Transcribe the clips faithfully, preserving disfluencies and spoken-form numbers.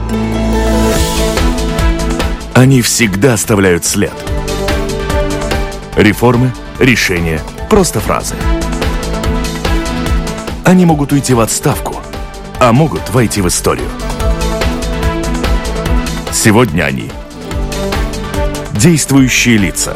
Они всегда оставляют след. Реформы, решения, просто фразы. Они могут уйти в отставку, а могут войти в историю. Сегодня они действующие лица.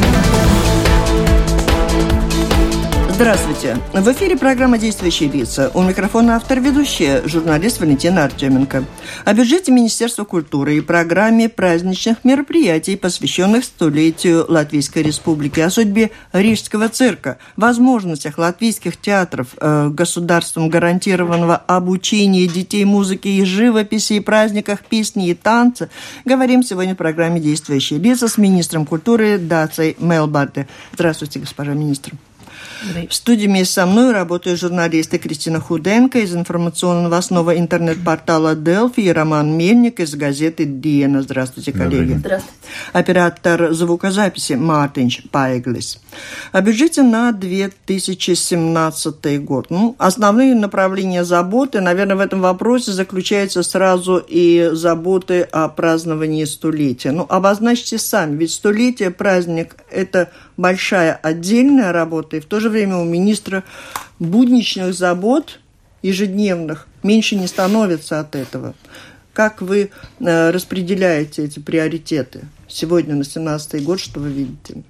Здравствуйте. В эфире программа «Действующие лица». У микрофона автор-ведущая, журналист Валентина Артеменко. О бюджете Министерства культуры и программе праздничных мероприятий, посвященных столетию Латвийской Республики, о судьбе Рижского цирка, возможностях латвийских театров, э, государством гарантированного обучения детей музыке и живописи, и праздниках песни и танца, говорим сегодня в программе «Действующие лица» с министром культуры Дацей Мелбарде. Здравствуйте, госпожа министр. В студии вместе со мной работают журналисты Кристина Худенко из информационно-новостного интернет-портала Делфи и Роман Мельник из газеты Диена. Здравствуйте, коллеги. Здравствуйте. Оператор звукозаписи Мартинч Пайглис. О бюджете на две тысячи семнадцатый год. Ну, основные направления заботы, наверное, в этом вопросе заключаются сразу и заботы о праздновании столетия. Ну, обозначьте сами, ведь столетие, праздник – это большая отдельная работа, и в то же время у министра будничных забот ежедневных меньше не становится от этого. Как вы э, распределяете эти приоритеты сегодня на семнадцатый год, что вы видите?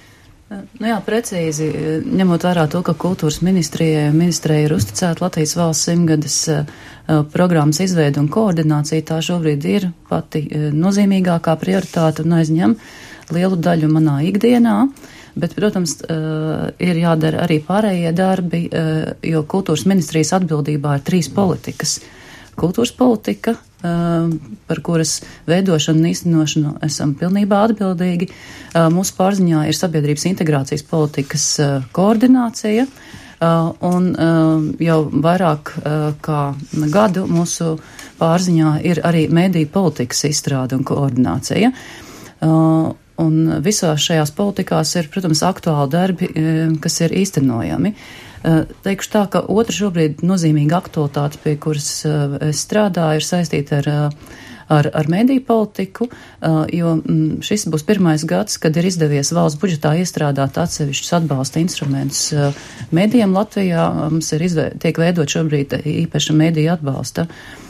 Nu jā, precīzi, ņemot vērā to, ka kultūras ministrijai, ministrijai ir uzticēta Latvijas valsts simtgades uh, programmas izveida un koordinācija, tā šobrīd ir pati uh, nozīmīgākā prioritāte un aizņem lielu daļu manā ikdienā. Bet, protams, uh, ir jādara arī pārējie darbi, uh, jo kultūras ministrijas atbildībā ir trīs politikas. Kultūras politika, uh, par kuras veidošanu un īstenošanu esam pilnībā atbildīgi. Uh, mūsu pārziņā ir sabiedrības integrācijas politikas uh, koordinācija, uh, un uh, jau vairāk uh, kā gadu mūsu pārziņā ir arī mediju politikas izstrāde un koordinācija. Uh, Un visās šajās politikās ir, protams, aktuāli darbi, kas ir īstenojami. Teikšu tā, ka otra šobrīd nozīmīga aktualitāte, pie kuras es strādāju, ir saistīta ar, ar, ar mediju politiku, jo šis būs pirmais gads, kad ir izdevies valsts budžetā iestrādāt atsevišķus atbalsta instrumentus medijiem Latvijā. Mums ir izve, tiek veidot šobrīd īpaša mediju atbalsta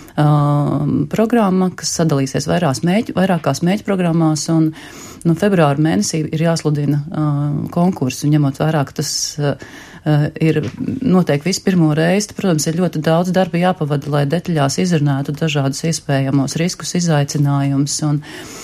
Uh, programma, kas sadalīsies vairās mēģi, vairākās mēģi programmās, un nu, februāra mēnesī ir jāsludina uh, konkursu, ņemot vērā, ka tas uh, ir noteikti visu pirmo reizi. Protams, ir ļoti daudz darba jāpavada, lai detaļās izrunātu dažādus iespējamos riskus, izaicinājumus, un,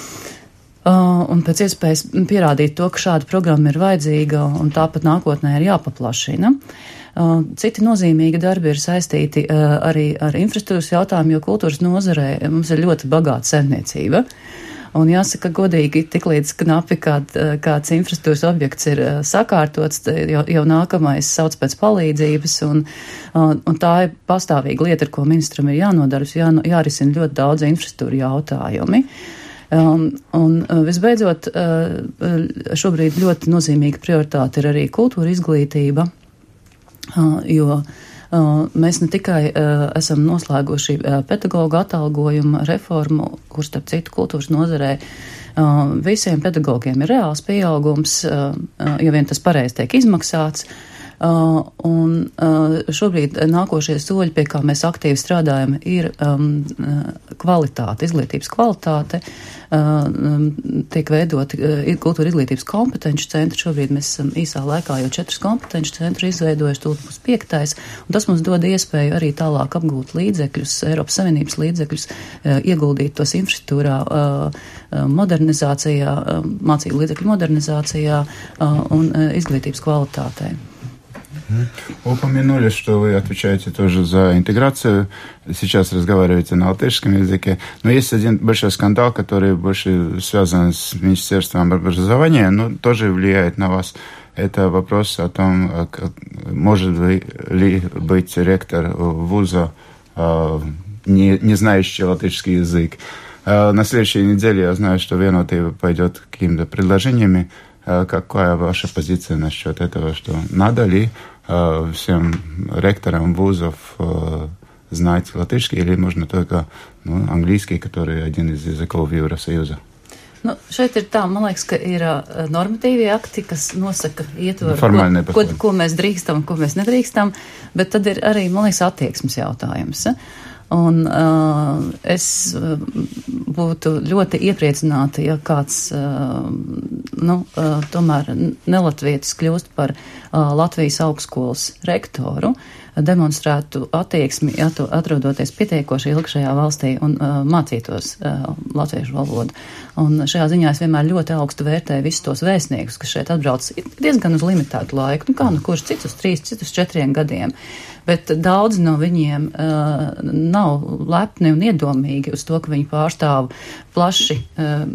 uh, un pēc iespējas pierādīt to, ka šāda programma ir vajadzīga, un tāpat nākotnē ir jāpaplašina. Citi nozīmīgi darbi ir saistīti uh, arī ar infrastruktūras jautājumu, jo kultūras nozarē mums ir ļoti bagāta saimniecība. Un jāsaka godīgi, tiklīdz knapi kād, kāds infrastruktūras objekts ir uh, sakārtots, jau, jau nākamais sauc pēc palīdzības, un, uh, un tā ir pastāvīga lieta, ar ko ministram ir jānodarbs, jā, jārisina ļoti daudz infrastruktūra jautājumi. Um, un uh, visbeidzot, uh, šobrīd ļoti nozīmīga prioritāte ir arī kultūra izglītība. Uh, jo uh, mēs ne tikai uh, esam noslēguši uh, pedagoģu atalgojumu reformu, kur starp citu kultūras nozarē uh, visiem pedagogiem ir reāls pieaugums, uh, uh, ja vien tas pareizi tiek izmaksāts. Uh, un uh, šobrīd nākošie soļi, pie kā mēs aktīvi strādājam, ir um, kvalitāte, izglītības kvalitāte. Uh, um, tiek veidoti uh, kultūra izglītības kompetenci centri. Šobrīd mēs esam īsā laikā jau četrus kompetenci centru izveidojuši, tūlīt būs piektais, un tas mums dod iespēju arī tālāk apgūt līdzekļus, Eiropas Savienības līdzekļus, uh, ieguldīt tos infrastruktūrā, uh, modernizācijā, uh, mācību līdzekļu modernizācijā uh, un uh, izglītības kvalitātei. Упомянули, что вы отвечаете тоже за интеграцию. Сейчас разговариваете на латышском языке. Но есть один большой скандал, который больше связан с Министерством образования, но тоже влияет на вас. Это вопрос о том, может ли быть ректор вуза, не, не знающий латышский язык. На следующей неделе я знаю, что Vienotībā пойдет какими-то предложениями. Какая ваша позиция насчет этого, что надо ли всем ректорам вузов знать латышский или можно только ну, английский, который один из языков Евросоюза. Nu, šeit ir tā, man liekas, ka ir uh, normatīvie akti, kas nosaka ietvaru, ko, ko, ko mēs drīkstam, ko mēs nedrīkstam, bet tad ir arī, man liekas, attieksmes jautājums. Un uh, es uh, būtu ļoti iepriecināta, ja kāds, uh, nu, uh, tomēr nelatvietis kļūst par uh, Latvijas augstskolas rektoru, demonstrētu attieksmi, atrodoties pietiekoši ilgi šajā valstī un uh, mācītos uh, latviešu valodu. Un šajā ziņā es vienmēr ļoti augstu vērtēju visus tos vēstniekus, kas šeit atbrauc diezgan uz limitētu laiku, nu kā nu kurš cits uz trīs, cits uz četriem gadiem. Bet daudzi no viņiem uh, nav lepni un iedomīgi uz to, ka viņi pārstāv plaši uh,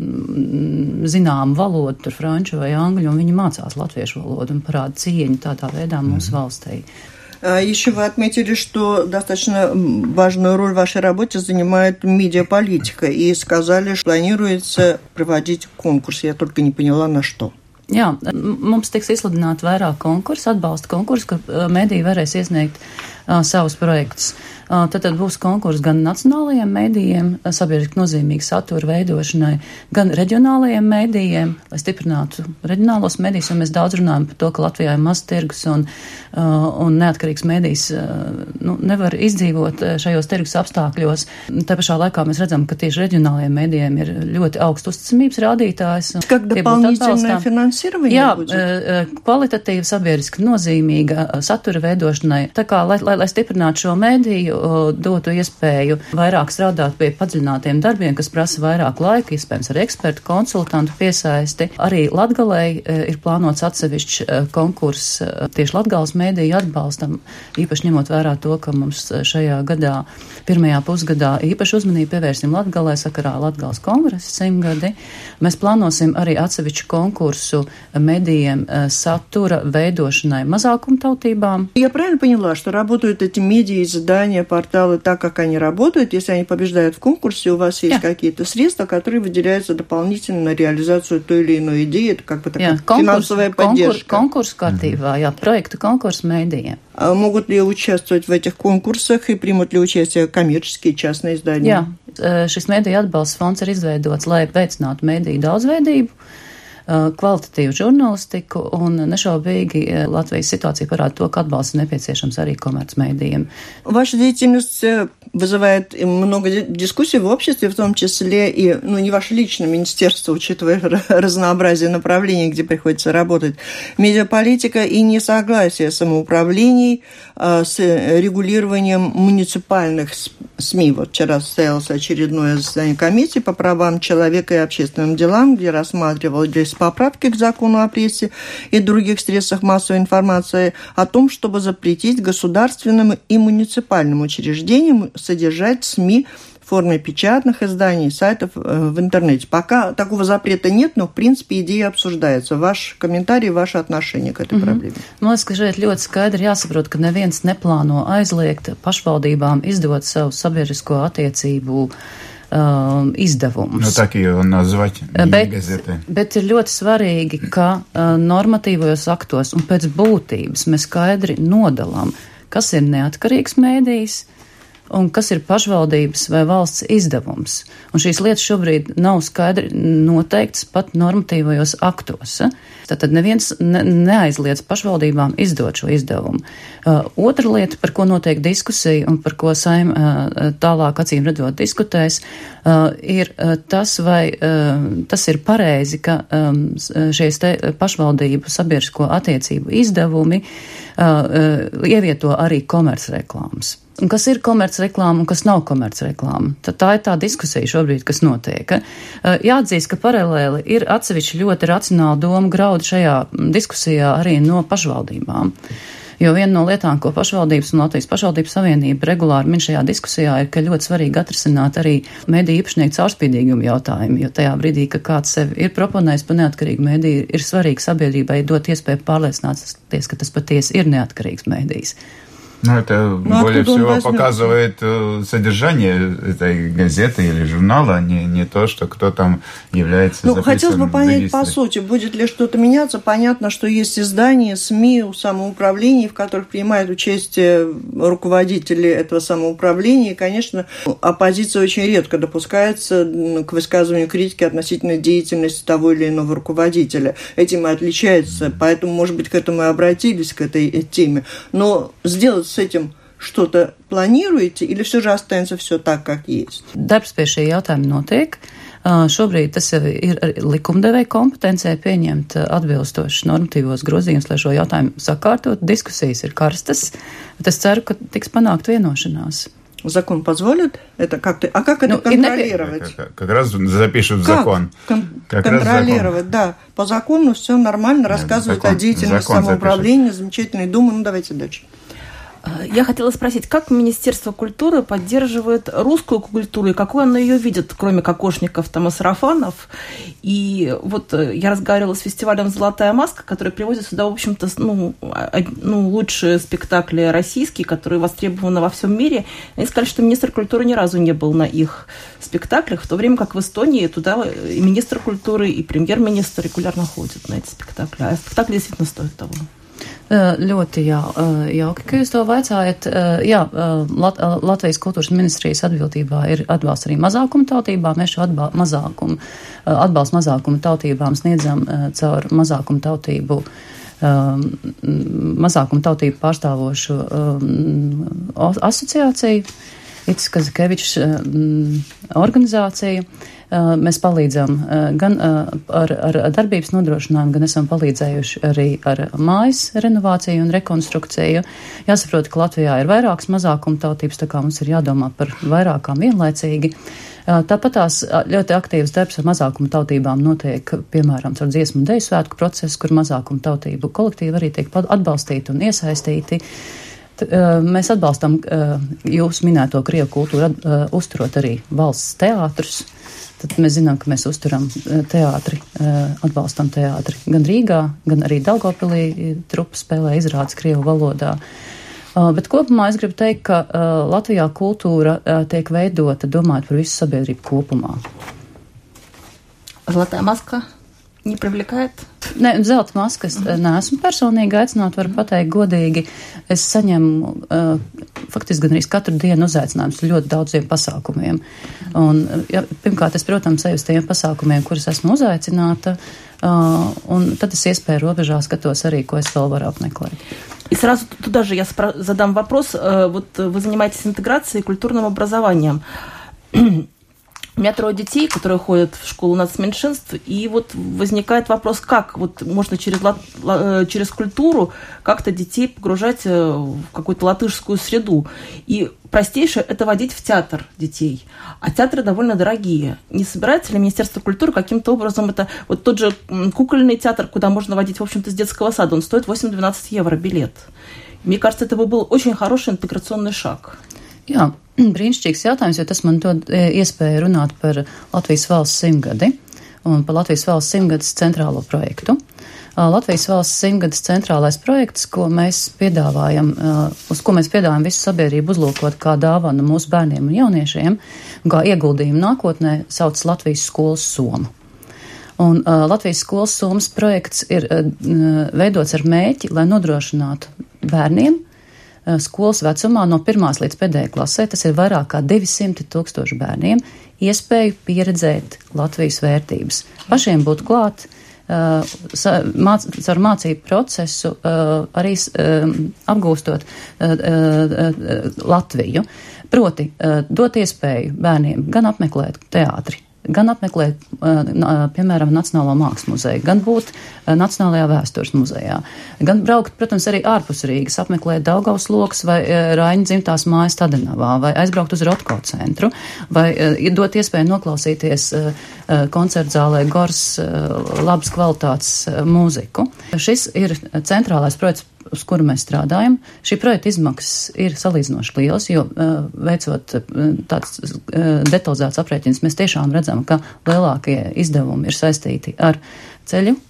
zināmu valodu, tur franču vai angļu, un viņi mācās latviešu valodu un parāda cieņu tādā veidā mūsu valstī. Еще вы отметили, что достаточно важную роль в вашей работе занимает медиаполитика, и сказали, что планируется проводить конкурс. Я только не поняла, на что. Jā, mums tiks izsludināti vairāk konkursu, atbalsta konkursu, kur mediji varēs iesniegt uh, savus projektus. Uh, tad, tad būs konkurss gan nacionālajiem medijiem, sabiedriski nozīmīgi satura veidošanai, gan reģionālajiem medijiem, lai stiprinātu reģionālos medijus, jo mēs daudz runājam par to, ka Latvijā ir maz tirgus un, uh, un neatkarīgs medijs uh, nu, nevar izdzīvot šajos tirgus apstākļos. Tā pašā laikā mēs redzam, ka tieši reģionālajiem medijiem ir ļoti augsts uzticamības rādītājs. Как дополнительное финансирование Jā, будет? kvalitatīva, sabiedriski nozīmīga satura veidošanai. Tā kā, lai, lai, lai stiprinātu šo mediju, dotu iespēju vairāk strādāt pie padziļinātiem darbiem, kas prasa vairāk laika, iespējams ar ekspertu, konsultantu piesaisti. Arī Latgalei ir plānots atsevišķs konkurss tieši Latgales mediju atbalstam, īpaši ņemot vērā to, ka mums šajā gadā, pirmajā pusgadā īpaši uzmanību pievērsim Latgalei sakarā Latgales kongresa simtgadi. Mēs plānosim arī atsevišķu konkursu медиям satura veidošanai mazākumtautībām. Я правильно поняла, что работают эти медиа, издания, порталы так, как они работают? Если они побеждают в конкурсе, у вас есть yeah. какие-то средства, которые выделяются дополнительно на реализацию той или иной идеи? Это как бы такая yeah, финансовая конкурс, поддержка. Конкурс kārtībā, jā, проекта конкурс медиям. А могут ли участвовать в этих конкурсах и примут ли участие коммерческие частные издания? Jā, šis mediju atbalsts fonds ir izveidots, lai veicinātu mediju daudzveidību, kvalitatīvu žurnālistiku, un nešaubīgi Latvijas ситуация parāda to, ka atbalsts nepieciešams arī komercmedijiem. Ваша деятельность вызывает много дискуссий в обществе, в том числе и, ну, не ваше личное министерство, учитывая разнообразие направлений, где приходится работать, медиаполитика и несогласие самоуправлений с регулированием муниципальных СМИ. Вот вчера состоялось очередное заседание комиссии по правам человека и общественным делам, где рассматривались поправки к закону о прессе и других средствах массовой информации о том, чтобы запретить государственным и муниципальным учреждениям содержать СМИ в форме печатных изданий, сайтов в интернете. Пока такого запрета нет, но, в принципе, идея обсуждается. Ваш комментарий, ваше отношение к этой mm-hmm. проблēме? Man liekas, ka šeit ļoti skaidri jāsaprot, ka neviens neplāno aizliegt pašvaldībām izdot savu sabiedrisko attiecību Uh, izdevumus. Nu, tā kā jau nazvāt, bet, bet ir ļoti svarīgi, ka uh, normatīvajos aktos un pēc būtības mēs skaidri nodalām, kas ir neatkarīgs mēdījis un kas ir pašvaldības vai valsts izdevums. Un šīs lietas šobrīd nav skaidri noteikts pat normatīvajos aktos. Tātad neviens ne, neaizliedz pašvaldībām izdot šo izdevumu. Uh, otra lieta, par ko notiek diskusija un par ko Saim uh, tālāk acīm redzot diskutēs, uh, ir uh, tas, vai uh, tas ir pareizi, ka um, šies te pašvaldību sabiedrisko attiecību izdevumi uh, uh, ievieto arī komercreklāmas. Un kas ir komercreklāma un kas nav komercreklāma. Tad tā ir tā diskusija šobrīd, kas notiek. Jāatzīst, ka paralēli ir atsevišķi ļoti racionāli doma graudi šajā diskusijā arī no pašvaldībām. Jo viena no lietām, ko pašvaldības un Latvijas pašvaldības savienība regulāri min šajā diskusijā, ir, ka ļoti svarīgi atrisināt arī mediju īpašnieku caurspīdīgumu jautājumu, jo tajā brīdī, ka kāds sevi ir proponējis par neatkarīgu mediju, ir svarīgi sabiedrībai dot iespēju pārliecināties, ka tas patiesi ir neatkarīgs medijs. Ну, это ну, более всего показывает содержание этой газеты или журнала, не, не то, что кто там является ну, записан хотелось бы понять в по сути, будет ли что-то меняться. Понятно, что есть издания, СМИ, самоуправления, в которых принимают участие руководители этого самоуправления. И, конечно, оппозиция очень редко допускается к высказыванию критики относительно деятельности того или иного руководителя. Этим и отличается. Поэтому, может быть, к этому и обратились, к этой теме. Но сделать с этим что-то планируете, или все же останется все так, как есть? Darbs pie šī jautājuma notiek. Šobrīd tas jau ir likumdevēja kompetencija pieņemt atbilstošus normatīvos grozījumus, lai šo jautājumu sakārtot. Diskusijas ir karstas, bet es ceru, ka tiks panākt vienošanās. Закон позволит это как-то? А как это ну, контролировать? Как, как раз запишут как? закон. Кон- как контролировать, закон. Да. По закону все нормально, рассказывают закон, о деятельности самоуправления, замечательной думы. Ну, давайте дальше. Я хотела спросить, как Министерство культуры поддерживает русскую культуру и какой оно ее видит, кроме кокошников там, и сарафанов? И вот я разговаривала с фестивалем «Золотая маска», который привозит сюда, в общем-то, ну, ну, лучшие спектакли российские, которые востребованы во всем мире. Они сказали, что министр культуры ни разу не был на их спектаклях, в то время как в Эстонии туда и министр культуры, и премьер-министр регулярно ходят на эти спектакли. А спектакли действительно стоят того. Ļoti jā, jauki, ka jūs to vaicājat. Jā, Lat- Latvijas kultūras ministrijas atbildībā ir atbalsts arī mazākuma tautībām. Mēs šo atbal- mazākumu, atbalstu mazākuma tautībām sniedzam caur mazākuma tautību, mazākuma tautību pārstāvošu asociāciju, Itis Kazikevičs organizācija. Mēs palīdzam gan ar, ar darbības nodrošinājumu, gan esam palīdzējuši arī ar mājas renovāciju un rekonstrukciju. Jāsaprot, ka Latvijā ir vairākas mazākuma tautības, tā kā mums ir jādomā par vairākām vienlaicīgi. Tāpat tās ļoti aktīvs darbs ar mazākuma tautībām notiek, piemēram, caur dziesmu un deju svētku procesu, kur mazākuma tautību kolektīvi arī tiek atbalstīti un iesaistīti. Mēs atbalstam jūsu minēto krievu kultūru, uzturot arī valsts teātrus. Tad mēs zinām, ka mēs uzturam teātri, atbalstam teātri gan Rīgā, gan arī Daugavpilī trupa spēlē izrādes krievu valodā. Bet kopumā es gribu teikt, ka Latvijā kultūra tiek veidota domājot par visu sabiedrību kopumā. Zlatā maska не привлекает? Ne, zelta maskas neesmu personīgi aicināta, varu pateikt godīgi. Es saņemu uh, faktiski gan arī katru dienu uzaicinājumus ļoti daudziem pasākumiem. Un, ja, pirmkārt, es, protams, eju uz tiem pasākumiem, kurus esmu uzaicināta, uh, un tad es iespēju robežā skatos arī, ko es vēl varu apmeklēt. И сразу туда же я спро- задам вопрос. Вот вы занимаетесь интеграцией и культурным образованием. У меня трое детей, которые ходят в школу нацменьшинств, и вот возникает вопрос, как вот можно через, через культуру как-то детей погружать в какую-то латышскую среду. И простейшее – это водить в театр детей. А театры довольно дорогие. Не собирается ли Министерство культуры каким-то образом это... Вот тот же кукольный театр, куда можно водить, в общем-то, с детского сада, он стоит восемь-двенадцать евро билет. Мне кажется, это бы был очень хороший интеграционный шаг. Jā, brīnišķīgs jautājums, jo tas man dod iespēju runāt par Latvijas valsts simtgadi un par Latvijas valsts simtgades centrālo projektu. Latvijas valsts simtgades centrālais projekts, ko mēs piedāvājam, uz ko mēs piedāvājam visu sabiedrību uzlūkot kā dāvanu mūsu bērniem un jauniešiem, kā ieguldījumu nākotnē, sauc Latvijas skolas soma. Un uh, Latvijas skolas somas projekts ir uh, veidots ar mērķi, lai nodrošinātu bērniem skolas vecumā no pirmās līdz pēdējai klasē, tas ir vairāk kā divi simti tūkstoši bērniem, iespēju pieredzēt Latvijas vērtības. Pašiem būt klāt, uh, māc, caur mācību procesu, uh, arī uh, apgūstot uh, uh, Latviju. Proti, uh, dot iespēju bērniem gan apmeklēt teātri, gan apmeklēt, piemēram, Nacionālo mākslas muzeju, gan būt Nacionālajā vēstures muzejā, gan braukt, protams, arī ārpus Rīgas, apmeklēt Daugavas lokas vai Raiņa dzimtās mājas Tadenavā, vai aizbraukt uz Rotko centru, vai dot iespēju noklausīties koncertzālē Gors labas kvalitātes mūziku. Šis ir centrālais projekts, uz kuru mēs strādājam. Šī projekta izmaksas ir salīdzinoši lielas, jo uh, veicot uh, tāds uh, detalizēts aprēķins, mēs tiešām redzam, ka lielākie izdevumi ir saistīti ar ceļu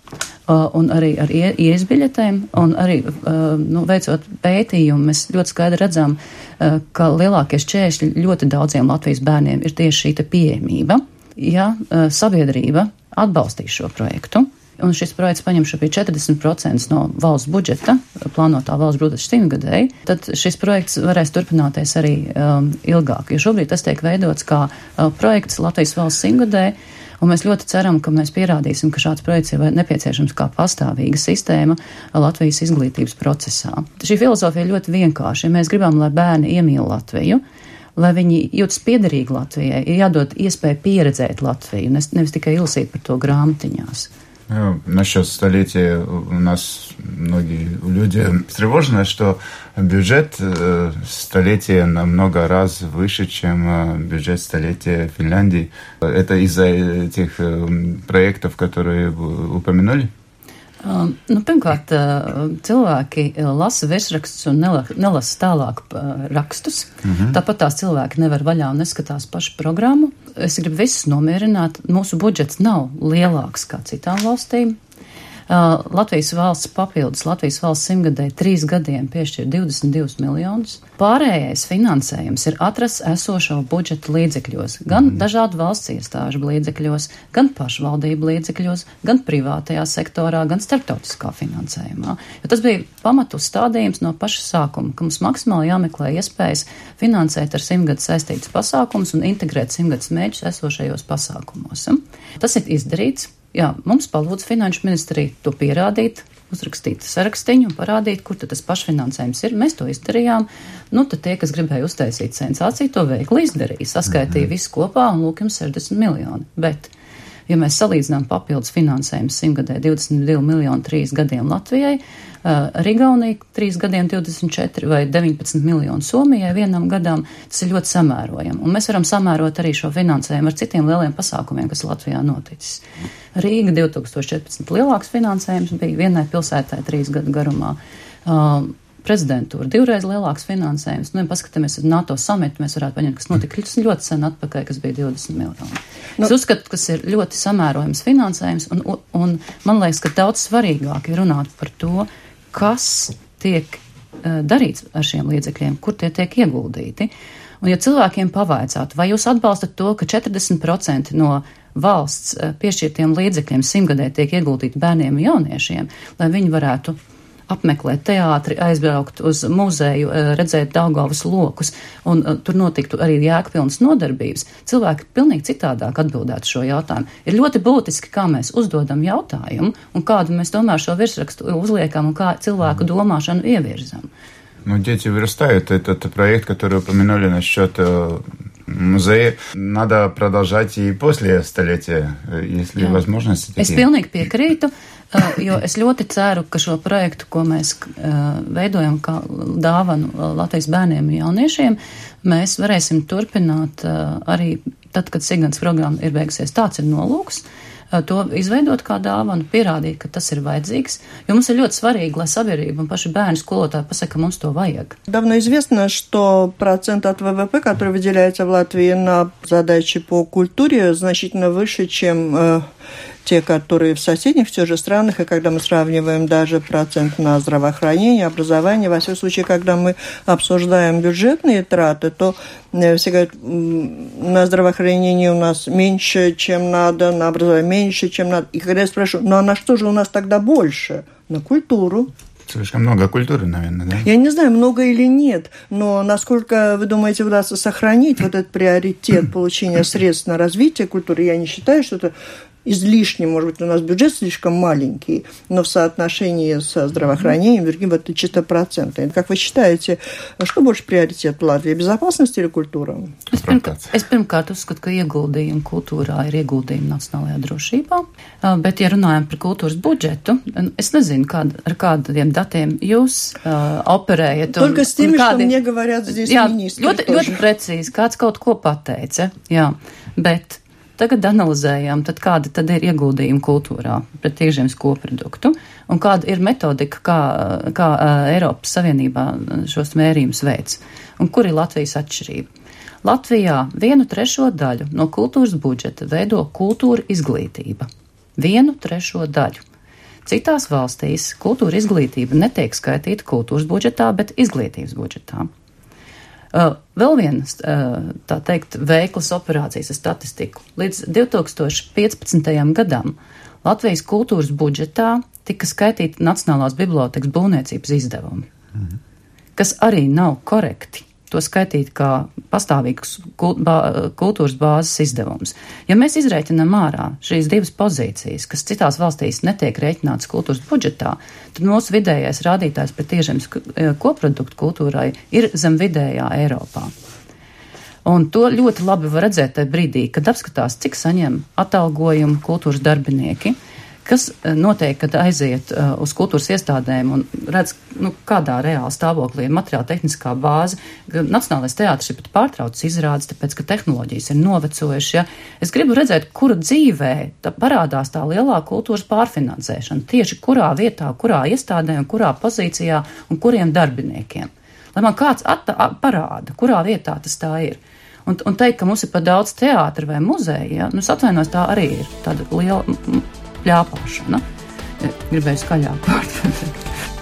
un arī ar ieejas biļetēm, un arī nu, veicot pētījumu, mēs ļoti skaidri redzam, ka lielākie šķēršļi ļoti daudziem Latvijas bērniem ir tieši šī pieejamība. Ja sabiedrība atbalstīs šo projektu, un šis projekts paņem šobrīd četrdesmit procenti no valsts budžeta, plānotā valsts budžeta simtgadēji, tad šis projekts varēs turpināties arī um, ilgāk, jo šobrīd tas tiek veidots kā uh, projekts Latvijas valsts simtgadēji, un mēs ļoti ceram, ka mēs pierādīsim, ka šāds projekts ir nepieciešams kā pastāvīga sistēma Latvijas izglītības procesā. Šī filozofija ir ļoti vienkārša. Ja mēs gribam, lai bērni iemīl Latviju, lai viņi jūtas piederīgi Latvijai, ir jādod iespēju pieredzēt Latviju, nevis tikai ilsīt par to grāmatiņās. Ну, насчет столетия у нас многие люди встревожены, что бюджет столетия намного раз выше, чем бюджет столетия Финляндии. Это из-за этих проектов, которые вы упомянули? Um, nu, pirmkārt, cilvēki lasa virsrakstus un nelasa tālāk rakstus. Mm-hmm. Tāpat tās cilvēki nevar vaļā un neskatās pašu programmu. Es gribu visus nomierināt. Mūsu budžets nav lielāks kā citām valstīm. Uh, Latvijas valsts papildus Latvijas valsts simtgadēji trīs gadiem piešķir divdesmit divus miljonus. Pārējais finansējums ir atrasts esošo budžeta līdzekļos, gan mm. dažādu valsts iestāžu līdzekļos, gan pašvaldību līdzekļos, gan privātajā sektorā, gan starptautiskā finansējumā. Jo tas bija pamatu uzstādījums no paša sākuma, ka mums maksimāli jāmeklē iespējas finansēt ar simtgadus saistītus pasākumus un integrēt simtgadus mērķus esošajos pasākumos. Tas ir izdarīts. Jā, mums palūdz Finanšu ministrija to pierādīt, uzrakstīt sarakstiņu un parādīt, kur tad tas pašfinansējums ir. Mēs to izdarījām. Nu, tad tie, kas gribēja uztaisīt sensāciju, to veikli izdarīja. Saskaitīja mm-hmm. visu kopā un lūk jums sešdesmit miljoni. Bet, ja mēs salīdzinām papildus finansējumu simtgadē divdesmit divi miljoni trīs gadiem Latvijai, uh, Rigaunija trīs gadiem divdesmit četri vai deviņpadsmit miljoni Somijai vienam gadam, tas ir ļoti samērojami. Un mēs varam samērot arī šo finansējumu ar citiem lieliem pasākumiem, kas Latvijā noticis. Rīga divtūkstoš četrpadsmit lielāks finansējums bija vienai pilsētai trīs gadu garumā. Uh, prezidentūra divreiz lielāks finansējums. Nu, ja paskatāmies uz NATO samitu, mēs varētu paņemt, kas notika ļoti sen atpakaļ, kas bija divdesmit miljoni. Nu, es uzskatu, kas ir ļoti samērojams finansējums, un, un man liekas, ka daudz svarīgāk ir runāt par to, kas tiek uh, darīts ar šiem līdzekļiem, kur tie tiek ieguldīti. Un ja cilvēkiem pavaicātu, vai jūs atbalstat to, ka četrdesmit procenti no valsts piešķirtiem līdzekļiem simtgadē tiek ieguldīti bērniem un jauniešiem, lai viņi varētu apmeklēt teātri, aizbraukt uz muzeju, redzēt Daugavas lokus, un uh, tur notiktu arī jēgpilnas nodarbības, cilvēki pilnīgi citādāk atbildētu šo jautājumu. Ir ļoti būtiski, kā mēs uzdodam jautājumu, un kādu mēs tomēr šo virsrakstu uzliekam, un kā cilvēku domāšanu ievirzam. Ну, дети вырастают. Этот проект, который упомянули насчет музея, надо продолжать и после столетия, если Jā. Возможности такие. Es pilnīgi piekrītu, jo es ļoti ceru, ka šo projektu, ko mēs veidojam kā dāvanu Latvijas bērniem un jauniešiem, mēs varēsim turpināt arī tad, kad Signas programma ir beigusies. Tāds ir nolūks. To izveidot kā dāvanu, pierādīt, ka tas ir vajadzīgs, jo mums ir ļoti svarīgi, lai sabiedrība un paši bērni skolotāji pasaka, ka mums to vajag. Давно известно, что процент от ВВП, который выделяется в Латвии на задачи по культуре, значительно выше, чем э, те, которые в соседних все же странах, и когда мы сравниваем даже процент на здравоохранение, образование, во всяком случае, когда мы обсуждаем бюджетные траты, то все говорят, на здравоохранение у нас меньше, чем надо, на образование меньше, чем надо. И когда я спрашиваю, ну а на что же у нас тогда больше? На культуру. Слишком много культуры, наверное, да? Я не знаю, много или нет, но насколько, вы думаете, удастся сохранить вот этот приоритет получения средств на развитие культуры, я не считаю, что это излишне, может быть, у нас бюджет слишком маленький, но в соотношении со здравоохранением, другим, это чисто проценты. Как вы считаете, что больше приоритет в Латвии, безопасность или культура? Es pirmkārt, es pirmkārt uzskatu, ka ieguldījumi kultūrā ir ieguldījumi nacionālajā drošībā, bet, ja runājam par kultūras budžetu, es nezinu, kād, ar kādiem datiem jūs uh, operējat. Только с tеми, что мне говорят здесь министri. Jā, ļoti, ļoti precīzi, kāds kaut ko pateica, jā, bet tagad analizējām, tad kāda tad ir ieguldījuma kultūrā pret iekšzemes koproduktu un kāda ir metodika, kā, kā Eiropas Savienībā šos mērījumus veids un kur ir Latvijas atšķirība. Latvijā vienu trešo daļu no kultūras budžeta veido kultūra izglītība. Vienu trešo daļu. Citās valstīs kultūra izglītība netiek skaitīta kultūras budžetā, bet izglītības budžetā. Uh, vēl viens, uh, tā teikt, veiklas operācijas ar statistiku. Līdz divi tūkstoši piecpadsmitajam gadam Latvijas kultūras budžetā tika skaitīti Nacionālās bibliotēkas būvniecības izdevumi, mhm. kas arī nav korekti. To skaitīt kā pastāvīgs kultūras bāzes izdevums. Ja mēs izrēķinām ārā šīs divas pozīcijas, kas citās valstīs netiek rēķinātas kultūras budžetā, tad mūsu vidējais rādītājs pret iekšzemes koproduktu kultūrai ir zem vidējā Eiropā. Un to ļoti labi var redzēt tajā brīdī, kad apskatās, cik saņem atalgojumu kultūras darbinieki, kas notiek, kad aiziet uh, uz kultūras iestādēm un redz, nu, kādā reāli stāvoklī ir materiāla tehniskā bāze. Nacionālais teātris ir pat pārtraucis izrādes, tāpēc, ka tehnoloģijas ir novecojušas. Ja? Es gribu redzēt, kura dzīvē tā parādās tā lielā kultūras pārfinansēšana, tieši kurā vietā, kurā iestādē un kurā pozīcijā un kuriem darbiniekiem. Lai man kāds atta, parāda, kurā vietā tas tā ir. Un, un teikt, ka mums ir pa daudz teātra vai muzeja, ja? Nu, es atvainojos, tā arī ir tāda liela pļāpāšana. Gribēju skaļāk vārdu.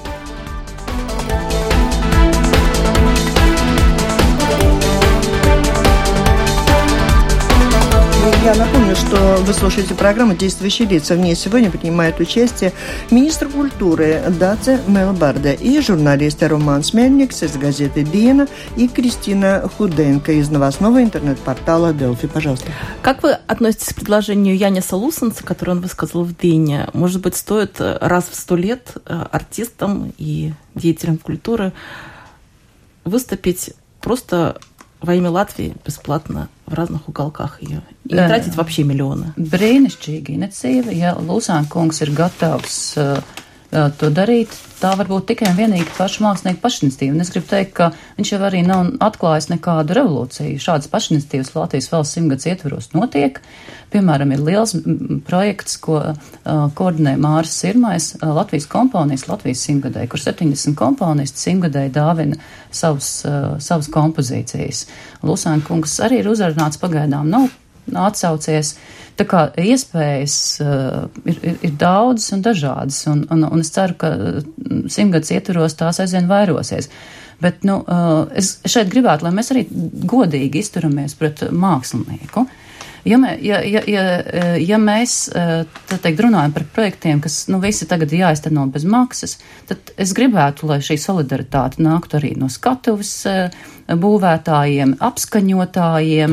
Я напомню, что вы слушаете программу «Действующие лица». В ней сегодня принимают участие министр культуры Даце Мелбарде и журналисты Роман Смельникс из газеты «Диена» и Кристина Худенко из новостного интернет-портала «Делфи». Пожалуйста. Как вы относитесь к предложению Яниса Лусенца, которое он высказал в «Диене»? Может быть, стоит раз в сто лет артистам и деятелям культуры выступить просто во имя Латвии бесплатно в разных уголках ее. И не tratīt вообще миллионы. Brīnišķīga iniciatīva, ja Lusāna kungs ir gatavs uh, uh, to darīt, tā varbūt tikai un vienīgi pašu mākslinieku pašiniciatīva. Un es gribu teikt, ka viņš jau arī nav atklājis nekādu revolūciju. Šādas pašiniciatīvas Latvijas valsts simtgads ietvaros notiek. Piemēram, ir liels projekts, ko uh, koordinē Māris Sirmais, uh, Latvijas komponijas Latvijas simtgadē, kur septiņdesmit komponisti simtgadē dāvina savus, uh, savas kompozīcijas. Lusāna kungs arī ir uzrunāts, pagaidām nav atsaucies. Tā kā iespējas uh, ir, ir, ir daudzas un dažādas, un, un, un es ceru, ka simtgads ietvaros tās aizvien vairosies. Bet, nu, uh, es šeit gribētu, lai mēs arī godīgi izturamies pret mākslinieku. Ja, mē, ja, ja, ja, ja mēs teikt, runājam par projektiem, kas nu, visi tagad jāizteno bez maksas, tad es gribētu, lai šī solidaritāte nāktu arī no skatuves būvētājiem, apskaņotājiem,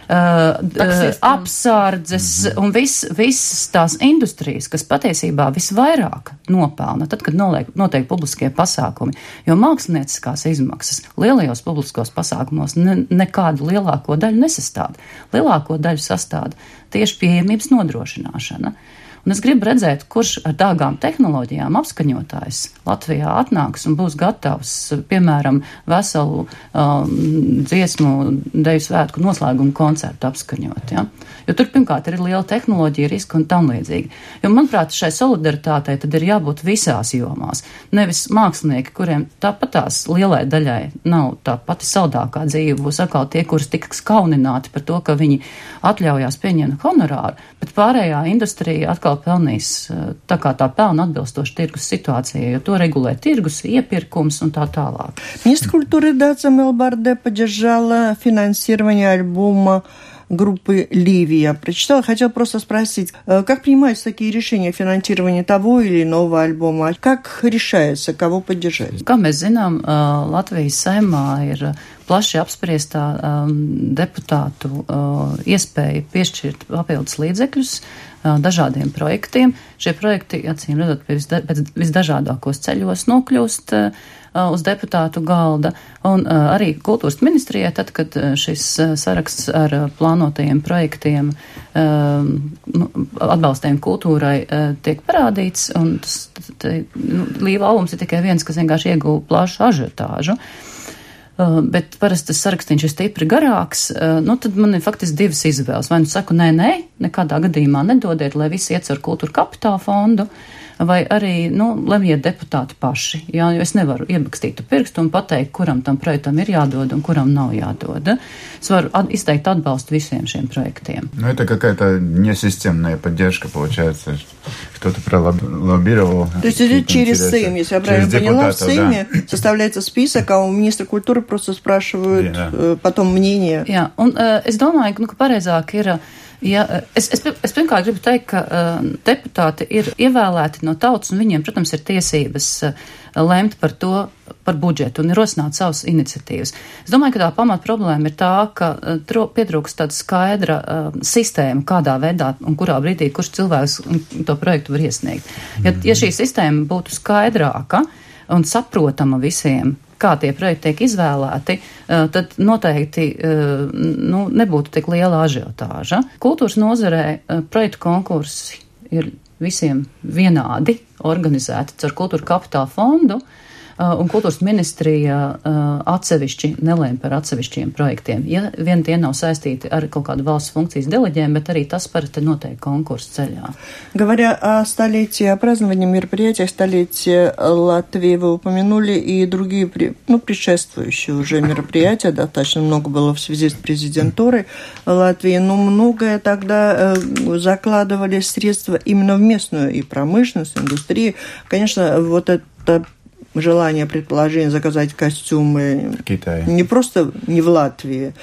uh, apsardzes mm-hmm. un vis, visas tās industrijas, kas patiesībā visvairāk nopelna, tad, kad noliek, notiek publiskie pasākumi. Jo mākslinieckās izmaksas lielajos publiskos pasākumos ne, nekādu lielāko daļu nesastāda. Lielāko daļu sastāda tieši pieejamības nodrošināšana. Un es gribu redzēt, kurš ar dārgām tehnoloģijām apskaņotājs Latvijā atnāks un būs gatavs, piemēram, veselu um, dziesmu deju svētku noslēgumu koncertu apskaņot. Ja? Jo tur, pirmkārt, ir liela tehnoloģija, riska un tam līdzīgi. Jo, manuprāt, šai solidaritātei tad ir jābūt visās jomās. Nevis mākslinieki, kuriem tāpatās lielai daļai nav tā pati saldākā dzīve, būs atkal tie, kurus tiks kaunināti par to, ka viņi atļaujās pieņemt honorāru, bet pārējā industrija atkal pelnīs tā kā tā pelna atbilstoši tirgus situācijai, jo to regulē tirgus, iepirkums un tā tālāk. Министр культуры Даце Мелбарде поддержала финансирование альбома группы «Ливия». Прочитала, хотела просто спросить, как принимаются такие решения финансирования того или иного альбома? Как решается, кого поддержать? Kā mēs zinām, Latvijas Saeimā ir plaši apspriestā um, deputātu uh, iespēja piešķirt papildus līdzekļus uh, dažādiem projektiem. Šie projekti, acīm redzot, pēc visdažādākos ceļos nokļūst uh, uz deputātu galda. Un uh, arī kultūras ministrijai, tad, kad šis uh, saraksts ar uh, plānotajiem projektiem uh, atbalstiem kultūrai uh, tiek parādīts, un tas, te, nu, Līva albums ir tikai viens, kas vienkārši ieguva plašu ažiotāžu. Uh, bet parasti tas sarakstīns ir stipri garāks, uh, nu tad man ir faktiski divas izvēles. Vai nu saku, nē, nē, nekādā gadījumā nedodiet, lai visi iet ar kultūra kapitāla fondu, vai arī, nu, lemjiet deputāti paši. Jā, jo es nevaru iebakstīt pirkstu un pateikt, kuram tam projektam ir jādod un kuram nav jādod. Es varu at- izteikt atbalstu visiem šiem projektiem. Ну, это какая-то несистемная поддержка, получается. кто-то пролоббировал. То есть идет через Сейм, если я правильно поняла, в Сейме да. составляется список, а у министра культуры просто спрашивают да. потом мнение. Jā, un uh, es domāju, nu, ka pareizāk ir, ja, es, es, es pirmkārt gribu teikt, ka uh, deputāti ir ievēlēti no tautas, un viņiem, protams, ir tiesības uh, lemt par to, par budžetu un ir rosināt savas iniciatīvas. Es domāju, ka tā pamat problēma ir tā, ka uh, pietrūkst tāda skaidra uh, sistēma, kādā veidā un kurā brīdī, kurš cilvēks to projektu var iesniegt. Ja, ja šī sistēma būtu skaidrāka un saprotama visiem, kā tie projekti tiek izvēlēti, uh, tad noteikti uh, nu, nebūtu tik liela ažiotāža. Kultūras nozarē uh, projektu konkursi ir visiem vienādi organizēti caur Kultūra Kapitāla fondu, uh, un kultūras ministrija uh, atsevišķi nelēma par atsevišķiem projektiem. Ja vien tie nav saistīti ar kaut kādu valsts funkcijas deleģēm, bet arī tas parasti notiek konkursu ceļā. Говоря о столетии, о праздновании мероприятия столетия Латвии, вы упомянули и другие, ну, предшествующие уже мероприятия, достаточно много было в связи с президентурой Латвии, но многое тогда закладывали средства именно в местную и промышленность, индустрию. Конечно, вот это желание, предположение заказать костюмы не просто не в Латвии,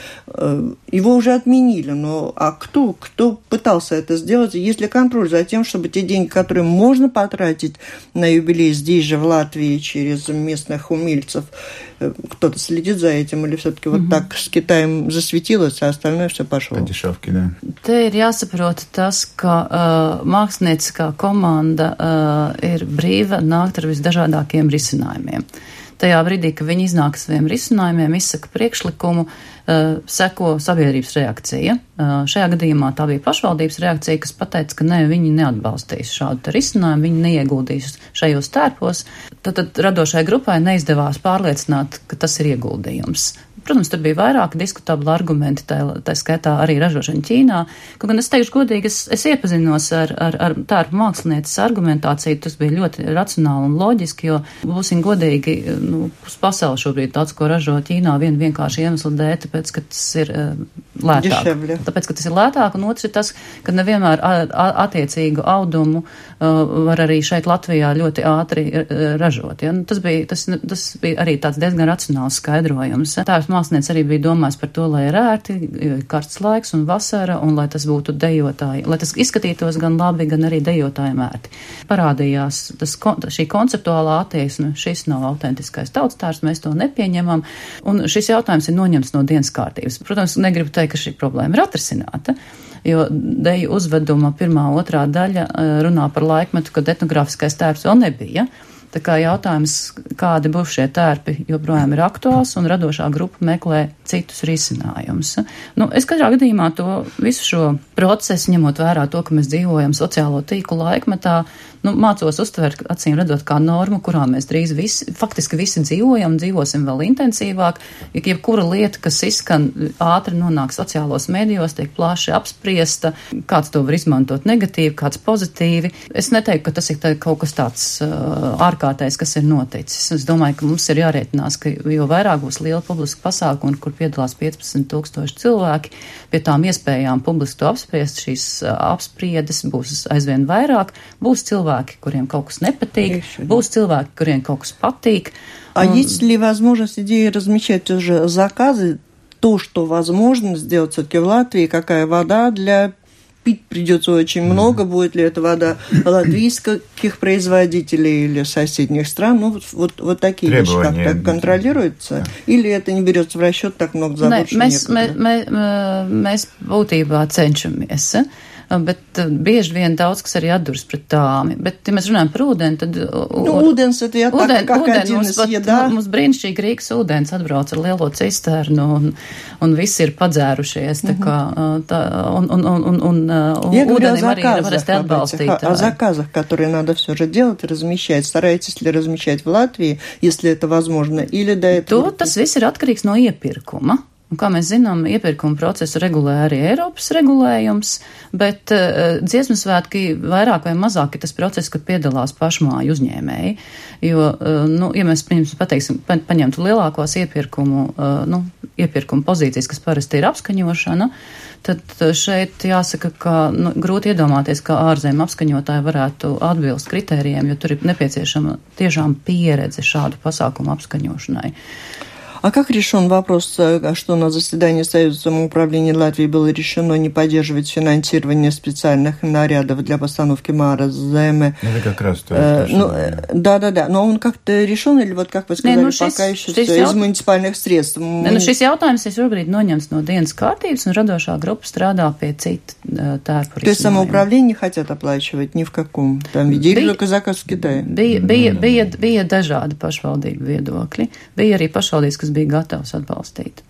его уже отменили, но а кто, кто пытался это сделать? Есть ли контроль за тем, чтобы те деньги, которые можно потратить на юбилей здесь же в Латвии через местных умельцев, кто-то следит за этим, или все-таки mm-hmm. вот так с Китаем засветилось, а остальное все пошло? По дешевке, да. Te ir jāsaprot tas, ka uh, mākslinieckā komanda uh, ir brīva nākt ar visdažādākiem risinājumiem. Tajā brīdī, kad viņi iznāk saviem risinājumiem, izsaka priekšlikumu, uh, seko sabiedrības reakcija. Uh, šajā gadījumā tā bija pašvaldības reakcija, kas pateica, ka ne, viņi neatbalstīs šādu risinājumu, viņi neieguldīs šajos tērpos. Tad, tad radošai grupai neizdevās pārliecināt, ka tas ir ieguldījums. Protams, tur bija vairāki diskutabli argumenti, tā, tā skaitā arī ražošana Ķīnā. Kaut gan es teikšu godīgi, es, es iepazinos ar, ar, ar tērpu mākslinieces argumentāciju, tas bija ļoti racionāli un loģiski, jo būsim godīgi, nu, pasauli šobrīd tāds, ko ražo Ķīnā, vien vienkārši iemeslu dēļ, tāpēc, ka tas ir uh, lētāk. Deševļa. Tāpēc, ka tas ir lētāk, un otrs ir tas, ka nevienmēr a, a, attiecīgu audumu uh, var arī šeit Latvijā ļoti ātri uh, ražot. Ja? Nu, tas, bija, tas, tas bija arī tāds diezgan racionāls skaidrojums. Tērps mākslinieks arī bija domājis par to, lai ir ērti, karsts laiks un vasara, un lai tas būtu dejotāji, lai tas izskatītos gan labi, gan arī dejotājiem ērti. Parādījās tas, šī konceptuālā attieksme, šis nav autentiskais tautstārs, mēs to nepieņemam, un šis jautājums ir noņemts no dienas kārtības. Protams, negribu teikt, ka šī problēma ir atrisināta, jo deju uzveduma pirmā, otrā daļa runā par laikmetu, kad etnogrāfiskais tērps vēl nebija. Tā kā jautājums, kādi būs šie tērpi, joprojām ir aktuāls, un radošā grupa meklē citus risinājumus. Nu, es katrā gadījumā to visu šo procesu, ņemot vērā to, ka mēs dzīvojam sociālo tīklu laikmetā, nu, mācos uztvert, acīm redzot, kā normu, kurā mēs drīz visi, faktiski visi dzīvojam, dzīvosim vēl intensīvāk. Ja jebkura lieta, kas izskan, ātri nonāk sociālos medijos, tiek plaši apspriesta, kāds to var izmantot negatīvi, kāds pozitīvi. Es neteiktu, ka tas ir kaut kas tāds uh, ārkārtējs, kas ir noticis. Es domāju, ka mums ir jārēķinās, ka jo vairāk būs liela publiska pasākuma, kur piedalās piecpadsmit tūkstoši cilvēki, pie tām iespējām publiski to apspriest, šīs uh, apspriedes būs aizvien vairāk, būs cilvēki, kuriem kaut kas nepatīk, būs cilvēki, kuriem kaut kas patīk. А un... есть ли возможность идеи размещать уже заказы, то, что возможно сделать все-таки в Латвии, какая вода для пить придется очень mm-hmm. много, будет ли это вода латвийских производителей или соседних стран, ну, вот, вот такие требования вещи как-то контролируются, yeah. или это не берется в расчет, так много забот, что некуда? Mēs būtībā cenšamies. Bet bieži vien daudz, kas arī atduras pret tām. Bet, ja mēs runājam par ūdeni, tad... Nu, ūdens, это я так, как один из еда. Mums brīnišķīgi Rīgas ūdens atbrauc ar lielo cisternu, un, un visi ir padzērušies, tā kā, tā, un, un, un, un, un, un ūdenim arī ir varēs te atbalstīt. О заказах, которые надо все же делать, размещать. Стараетесь ли размещать в Латвии, если это возможно, или до этого? To, tas viss ir atkarīgs no iepirkuma. Un, kā mēs zinām, iepirkuma procesu regulē arī Eiropas regulējums, bet uh, dziesmu svētki vairāk vai mazāk ir tas process, kad piedalās pašmāju uzņēmēji. Jo, uh, nu, ja mēs pateiksim, pa, paņemtu lielākos iepirkumu, uh, nu, iepirkuma pozīcijas, kas parasti ir apskaņošana, tad šeit jāsaka, ka nu, grūti iedomāties, kā ārzemju apskaņotāji varētu atbilst kritērijiem, jo tur ir nepieciešama tiešām pieredze šādu pasākumu apskaņošanai. А как решен вопрос, что на заседании Союза самоуправления Латвии было решено не поддерживать финансирование специальных нарядов для постановки Māra Zeme? Это как раз то, э, что... Ну, да-да-да, но он как-то решен, или вот, как вы сказали, ne, nu šis, пока еще šis из jaut... муниципальных средств? Ne, nu šis jautājums ir šobrīd noņemts no dienas kārtības, un radošā grupa strādā pie cita tērpu. То есть самоуправление не хотят оплачивать ни в каком там виде, или только заказ в Китае? Bija, bija, bija, bija dažādi pašvaldību viedokļi. Bija arī pašvaldības, kas bija gatavs atbalstīt.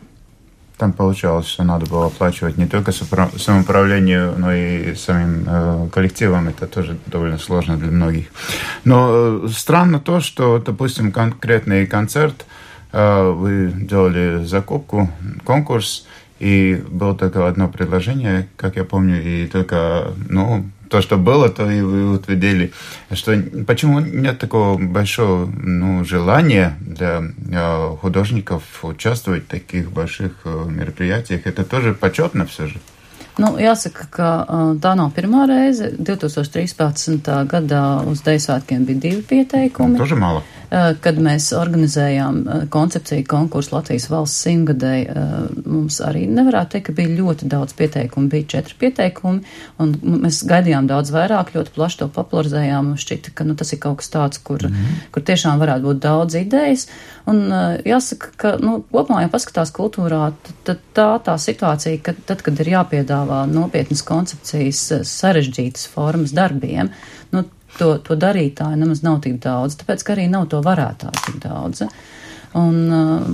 Там получалось, что надо было оплачивать не только самоуправлению, но и самим э, коллективам. Это тоже довольно сложно для многих. Но э, странно то, что, допустим, конкретный концерт, э, вы делали закупку, конкурс, и было только одно предложение, как я помню, и только, ну, то, что было, то и вы утвердили. Что, почему нет такого большого ну, желания для э, художников участвовать в таких больших э, мероприятиях? Это тоже почетно все же. Nu, jāsaka, ka tā nav pirmā reize. divi tūkstoši trīspadsmitā gadā uz Deju svētkiem bija divi pieteikumi. Тоже мало. Kad mēs organizējām koncepciju konkursu Latvijas valsts simtgadēji, mums arī nevarētu teikt, ka bija ļoti daudz pieteikumu, bija četri pieteikumi, un mēs gaidījām daudz vairāk, ļoti plaši to popularizējām, un šķita, ka nu, tas ir kaut kas tāds, kur, mm-hmm. kur tiešām varētu būt daudz idejas, un jāsaka, ka nu, kopumā, ja paskatās kultūrā, tad tā tā situācija, ka tad, kad ir jāpiedāvā nopietnas koncepcijas, sarežģītas formas darbiem, nu, To, to darītāju nemaz nav tik daudz, tāpēc, ka arī nav to varētāju tik daudz. Un,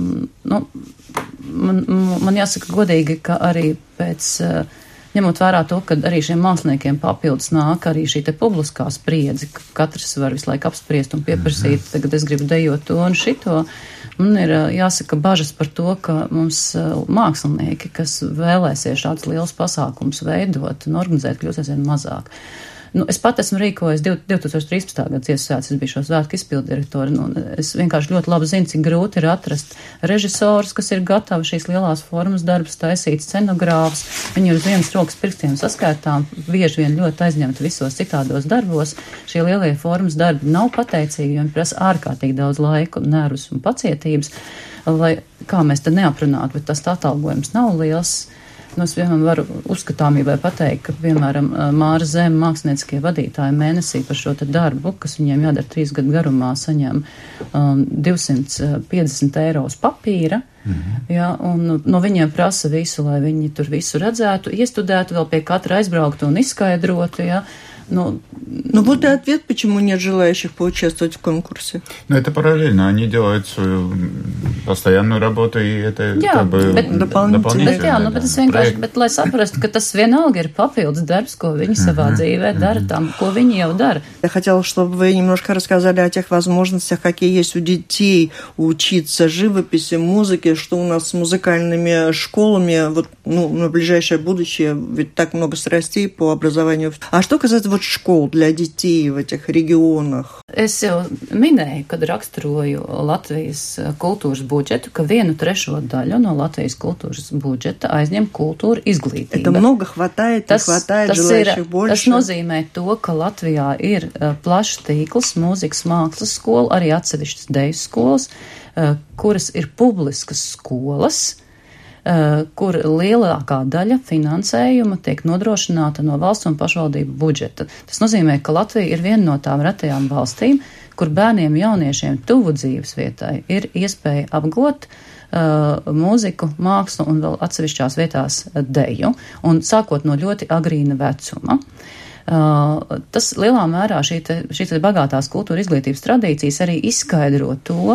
nu, man, man jāsaka godīgi, ka arī pēc, ņemot vērā to, ka arī šiem māksliniekiem papildus nāk arī šī te publiskā spriedze, ka katrs var visu laiku apspriest un pieprasīt, tagad es gribu dejot to un šito, man ir jāsaka bažas par to, ka mums mākslinieki, kas vēlēsies šādus lielus pasākumus veidot un organizēt, kļūs aizvien mazāk. Nu, es pat esmu rīkojis divi tūkstoši trīspadsmitā gada dziesmu svētkus, es biju šo svētku izpildirektori, nu, es vienkārši ļoti labi zinu, cik grūti ir atrast režisors, kas ir gatavi šīs lielās formas darbus taisīt, scenogrāfus, viņi ir uz vienas rokas pirkstiem saskaitām, bieži vien ļoti aizņemti visos citādos darbos, šie lielie formas darbi nav pateicīgi, jo viņi prasa ārkārtīgi daudz laiku, nervus un pacietības, lai kā mēs te neaprunātu, bet tas atalgojums nav liels. Nu, es vienmēr varu uzskatāmībai pateikt, ka, piemēram, Māra Zeme mākslinieckie vadītāji mēnesī par šo te darbu, kas viņiem jādara trīs gadu garumā, saņem um, divsimt piecdesmit eiro uz papīra, mm-hmm. ja, un no viņiem prasa visu, lai viņi tur visu redzētu, iestudētu, vēl pie katra aizbrauktu un izskaidrotu, ja. Ну, ну вот и ответ, почему нет желающих поучаствовать в конкурсе. Ну, это параллельно. Они делают свою постоянную работу, и это jā, как бы bet, дополнительно. Bet, jā, nu, bet es vienkārši, bet, lai saprastu, ka tas vienalga ir papildus darbs, ko viņi savā uh-huh. dzīvē dara там, ko viņi jau dara. Я хотела, чтобы вы немножко рассказали о тех возможностях, какие есть у детей учиться живописи, музыке, что у нас с музыкальными школами, вот, ну, на ближайшее будущее, ведь так много страстей по образованию. А что касается вот školu для детей в этих регионах? Es jau minēju, kad raksturoju Latvijas kultūras budžetu, ka vienu trešo daļu no Latvijas kultūras budžeta aizņem kultūra izglītība. Это много хватает, tas, не хватает, tas желающих ir, больше. Tas nozīmē to, ka Latvijā ir uh, plašs tīkls, mūzikas mākslas skola, arī atsevišķas deju skolas, uh, kuras ir publiskas skolas, kur lielākā daļa finansējuma tiek nodrošināta no valsts un pašvaldību budžeta. Tas nozīmē, ka Latvija ir viena no tām retajām valstīm, kur bērniem jauniešiem tuvu dzīves vietai ir iespēja apgūt uh, mūziku, mākslu un vēl atsevišķās vietās deju, un sākot no ļoti agrīna vecuma. Uh, tas lielā mērā šī te, šī te bagātās kultūra izglītības tradīcijas arī izskaidro to,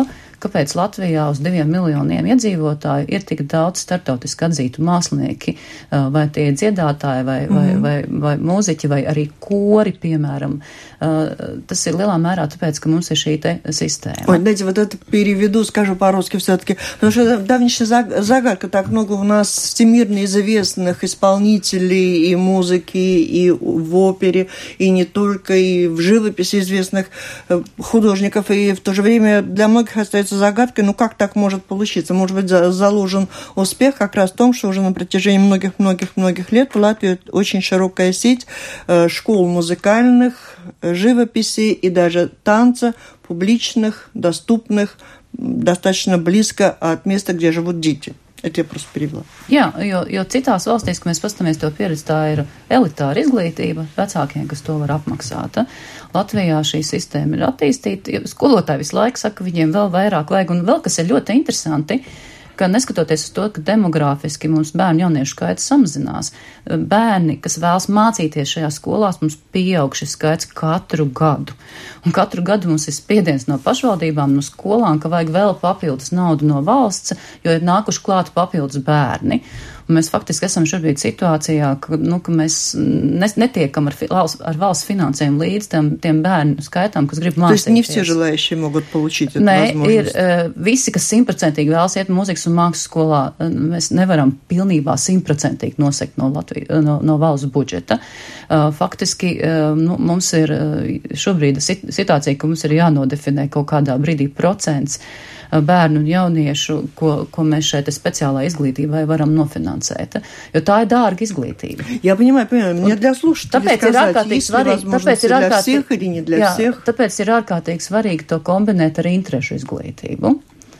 kāpēc Latvijā uz diviem miljoniem iedzīvotāju ir tik daudz startautiski atzītu mākslinieki, vai tie dziedātāji, vai, vai, mm. vai, vai mūziķi, vai arī kori, piemēram. Tas ir lielā mērā tāpēc, ka mums ir šī te система. Ой, дайте вот это переведу, скажу по-русски все-таки. Потому что давнейшая загадка, так много у нас всемирно известных исполнителей и музыки, и в опере, и не только, и в живописи известных художников. И в то же время для многих остается загадкой, ну как так может получиться? Может быть, заложен успех как раз в том, что уже на протяжении многих-многих-многих лет в Латвии очень широкая сеть школ музыкальных, живописи и даже танца, публичных, доступных, достаточно близко от места, где живут дети. Это я просто перевела. Jā, jo, jo citās valstīs, ka mēs pastamies to pieredzi, tā ir elitāra izglītība vecākiem, kas to var apmaksāt. Latvijā šī sistēma ir attīstīta. Skolotāji visu laiku saka, viņiem vēl vairāk vajag. Un vēl kas ir ļoti interesanti, ka neskatoties uz to, ka demogrāfiski mums bērnu jauniešu skaits samazinās, bērni, kas vēlas mācīties šajās skolās, mums pieaug šis skaits katru gadu. Un katru gadu mums ir spiediens no pašvaldībām, no skolām, ka vajag vēl papildus naudu no valsts, jo ir nākuši klāt papildus bērni. Un mēs faktiski esam šobrīd situācijā, ka, nu, ka mēs netiekam ar, ar valsts finansējumu līdz tiem, tiem bērnu skaitām, kas grib mācīties. То есть не все желающие могут получить эту Nē, возможность? Ir visi, kas simtprocentīgi vēlas iet mūzikas un mākslas skolā, mēs nevaram pilnībā simtprocentīgi nosekt no, Latvijas, no, no valsts budžeta. Faktiski nu, mums ir šobrīd situācija, ka mums ir jānodefinē kaut kādā brīdī procents bērnu un jauniešu, ko, ko mēs šeit speciālā izglītībai varam nofinansēt. Jo tā ir dārga izglītība. Я понимаю, понимаю. Мне для слушателей сказать, есть ли возможности для всех или не для jā, всех? Tāpēc ir ārkārtīgi svarīgi to kombinēt ar interešu izglītību.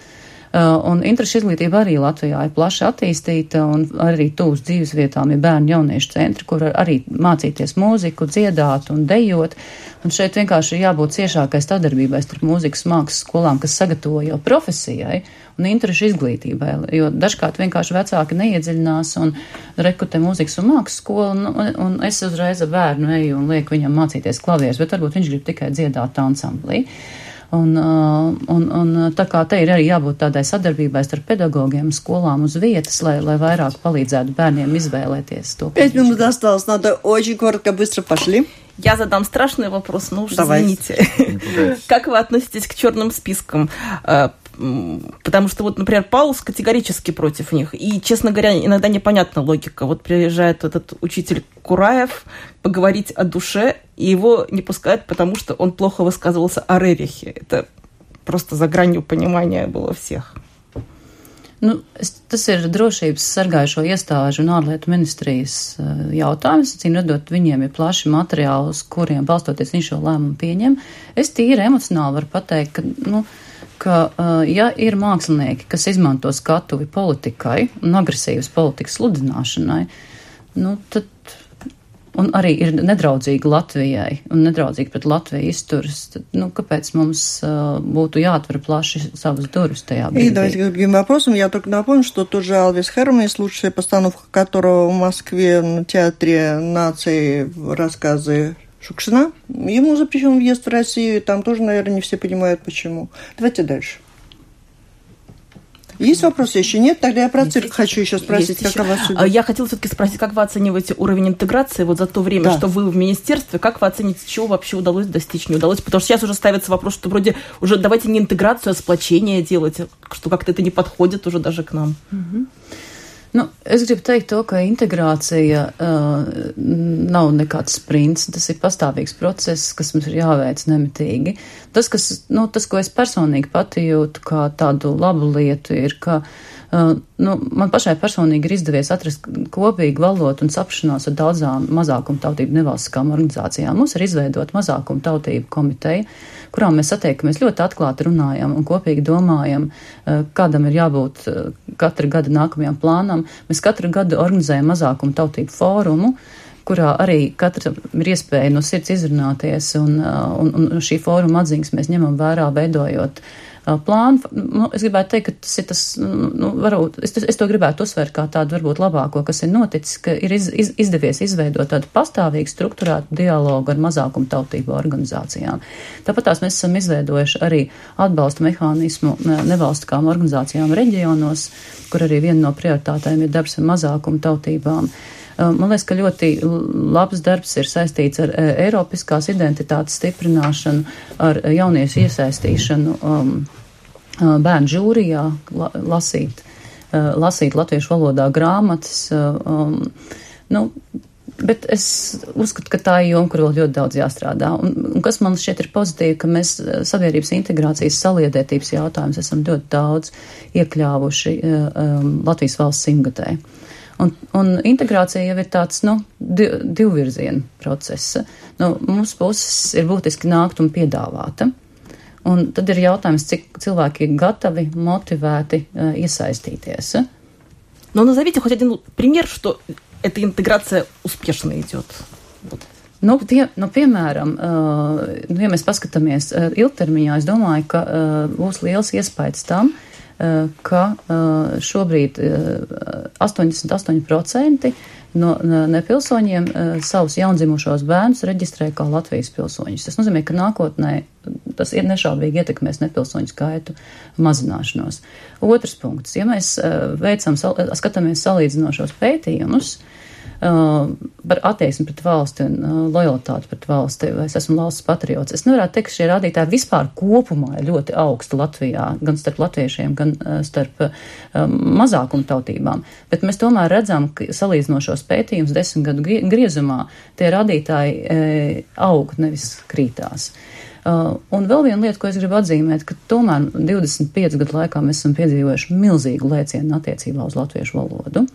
Un interešu izglītība arī Latvijā ir plaši attīstīta, un arī tūs dzīves vietām ir bērnu jauniešu centri, kur arī mācīties mūziku, dziedāt un dejot. Un šeit vienkārši ir jābūt ciešākai sadarbībai starp mūzikas mākslas skolām, kas sagatavo jau profesijai un interešu izglītībai, jo dažkārt vienkārši vecāki neiedziļinās un rekrutē mūzikas un mākslas skolu, un, un es uzreiz ar bērnu eju un lieku viņam mācīties klavierus, bet varbūt viņš grib tikai dziedāt ansamblī. Un, un, un tā kā te ir arī jābūt tādai sadarbībai starp pedagogiem, skolām uz vietas, lai, lai vairāk palīdzētu bērniem izvēlēties to. Пять минут осталось, надо очень коротко, быстро пошли. Я задам страшный вопрос, но уж Давай. извините. Как вы относитесь к черным спискам? Потому что, вот, например, Паулс категорически против них. И, честно говоря, иногда непонятна логика. Вот приезжает этот учитель Кураев поговорить о душе, и его не пускают, потому что он плохо высказывался о Рерихе. Это просто за гранью понимания было всех. Nu, tas ir drošības sargājušo iestāžu un ārlietu ministrijas jautājums. Cīm redot, viņiem ir plaši materiāli, uz kuriem balstoties viņš šo lēmumu pieņem. Es tīri emocionāli varu pateikt, ka, nu, ka ja ir mākslinieki, kas izmanto skatuvi politikai un agresīvas politikas sludināšanai, nu, tad un arī ir nedraudzīgi Latvijai un nedraudzīgi pret Latviju izturas, tad, ну, kāpēc mums uh, būtu jāatver plaši savas durvis tajā brīdī? И давайте к другим вопросам. Я только напомню, что тот же Алвис Херманис, лучшая постановка которого в Москве на Театре нации рассказы Шукшина, ему запрещен въезд в Россию, там тоже, наверное, не все понимают, почему. Давайте дальше. Есть вопросы? Еще нет? Тогда я про цирк хочу еще спросить, Есть как еще. о вас судят. Я хотела все-таки спросить, как вы оцениваете уровень интеграции вот за то время, Да. что вы в министерстве, как вы оцените, чего вообще удалось достичь, не удалось? Потому что сейчас уже ставится вопрос, что вроде уже давайте не интеграцию, а сплочение делать, что как-то это не подходит уже даже к нам. Mm-hmm. Nu, es gribu teikt to, ka integrācija uh, nav nekāds sprints, tas ir pastāvīgs process, kas mums ir jāveic nemitīgi. Tas, kas, nu, tas, ko es personīgi pati jūtu kā tādu labu lietu, ir, ka uh, nu, man pašai personīgi ir izdevies atrast kopīgu valodu un saprašanos ar daudzām mazākumtautību nevalstiskām organizācijām. Mums ir izveidot mazākumtautību komiteju, kurām mēs satiekamies ļoti atklāti runājam un kopīgi domājam, kādam ir jābūt katra gada nākamajam plānam. Mēs katru gadu organizējam mazākumu tautību fórumu, kurā arī katram ir iespēja no sirds izrunāties, un, un, un šī fóruma atziņas mēs ņemam vērā, veidojot plānu. Nu, es gribētu teikt, ka tas ir tas, nu, varbūt, es, es to gribētu uzsvērt kā tādu varbūt labāko, kas ir noticis, ka ir iz, iz, izdevies izveidot tādu pastāvīgu strukturētu dialogu ar mazākumu tautību organizācijām. Tāpat tās mēs esam izveidojuši arī atbalsta mehānismu nevalstiskām organizācijām reģionos, kur arī viena no prioritātēm ir darbs ar mazākumu tautībām. Man liekas, ka ļoti labs darbs ir saistīts ar eiropiskās identitātes stiprināšanu, ar jauniešu iesaistīšanu um, bērnu žūrijā, la, lasīt, uh, lasīt latviešu valodā grāmatas. Um, nu, bet es uzskatu, ka tā ir joma, kur vēl ļoti daudz jāstrādā. Un, un kas man šķiet ir pozitīvi, ka mēs sabiedrības integrācijas saliedētības jautājumus esam ļoti daudz iekļāvuši um, Latvijas valsts simtgadē. Un, un integrācija jau ir tāds, nu, div, divvirziena procesa. Nu, mums puses ir būtiski nākt un piedāvāta. Un tad ir jautājums, cik cilvēki ir gatavi, мотивēti uh, iesaistīties. Но назовите хоть один пример, что эта интеграция успешно идет. Вот. Nu, pie, nu, piemēram, uh, nu, ja mēs paskatāmies uh, ilgtermiņā, es domāju, ka uh, būs liels iespējas tam, ka šobrīd astoņdesmit astoņi procenti no nepilsoņiem savus jaundzimušos bērnus reģistrē kā Latvijas pilsoņus. Tas nozīmē, ka nākotnē tas ir nešaubīgi ietekmēs nepilsoņu skaitu mazināšanos. Otrs punkts. Ja mēs veicam, skatāmies salīdzinošos pētījumus, Uh, par attieksmi pret valsti un uh, lojalitāti pret valsti, vai es esmu valsts patriots. Es nevarētu teikt, ka šie rādītāji vispār kopumā ir ļoti augsti Latvijā, gan starp latviešiem, gan uh, starp uh, mazākumu tautībām. Bet mēs tomēr redzam, ka salīdzinošos pētījumus desmit gadu griezumā tie rādītāji uh, aug, nevis krītās. Uh, un vēl viena lieta, ko es gribu atzīmēt, ka tomēr divdesmit piecu gadu laikā mēs esam piedzīvojuši milzīgu lēcienu attiecībā uz latviešu valodu.